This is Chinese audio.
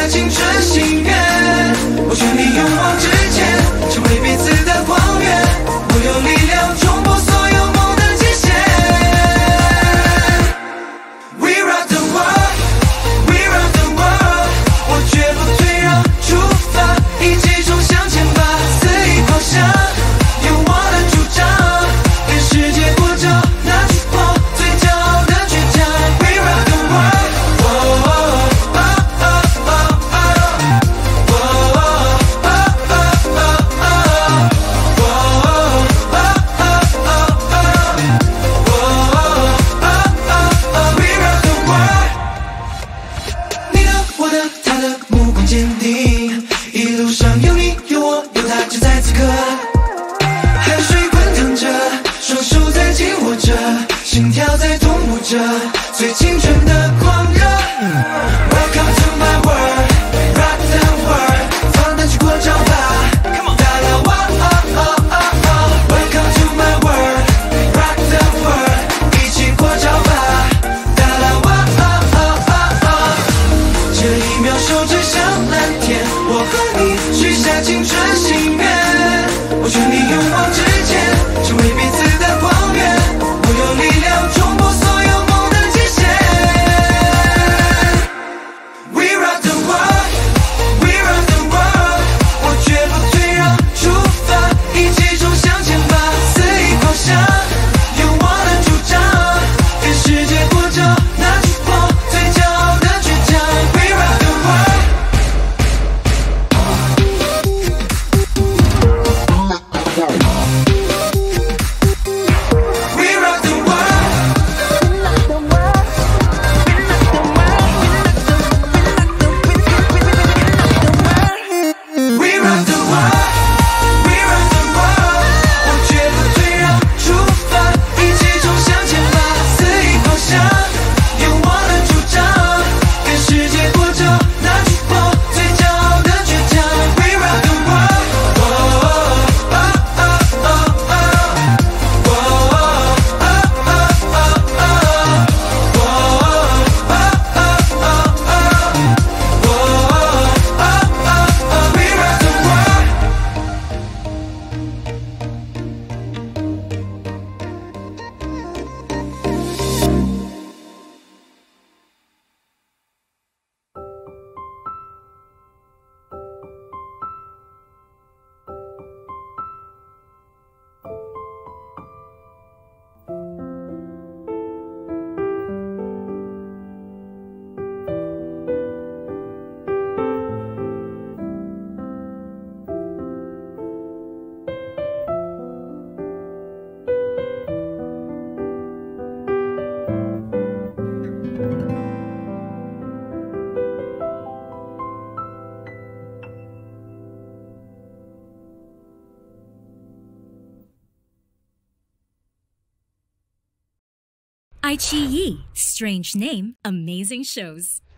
下青春心愿，我全力勇往直前，成为彼此的光源。我有力量冲破所有梦的极限。We rock the world, we rock the world， 我绝不退让，出发，一起冲向前吧，肆意翱翔，有我的主张，跟世界过招，拿出我最骄傲的倔强。We rock the world。坚定，一路上有你有我有他，就在此刻，汗水滚腾着，双手在紧握着，心跳在同步着，最青春的狂热。Welcome to my world, rock the world， 放胆去扩张吧，大啦哇！Welcome to my world, rock the world， 一起扩张吧，大啦哇！这一秒手指向蓝天，我和你许下青春心愿，我全力勇往直前，成为彼此的光源。我有力量冲破所有梦的极限。We rock the world, we rock the world， 我绝不退让，出发，一起冲向前吧，肆意翱翔，有我的主张，跟世界过招，拿出我最骄傲的倔强。We rock the world。 iQIYI, strange name, amazing shows.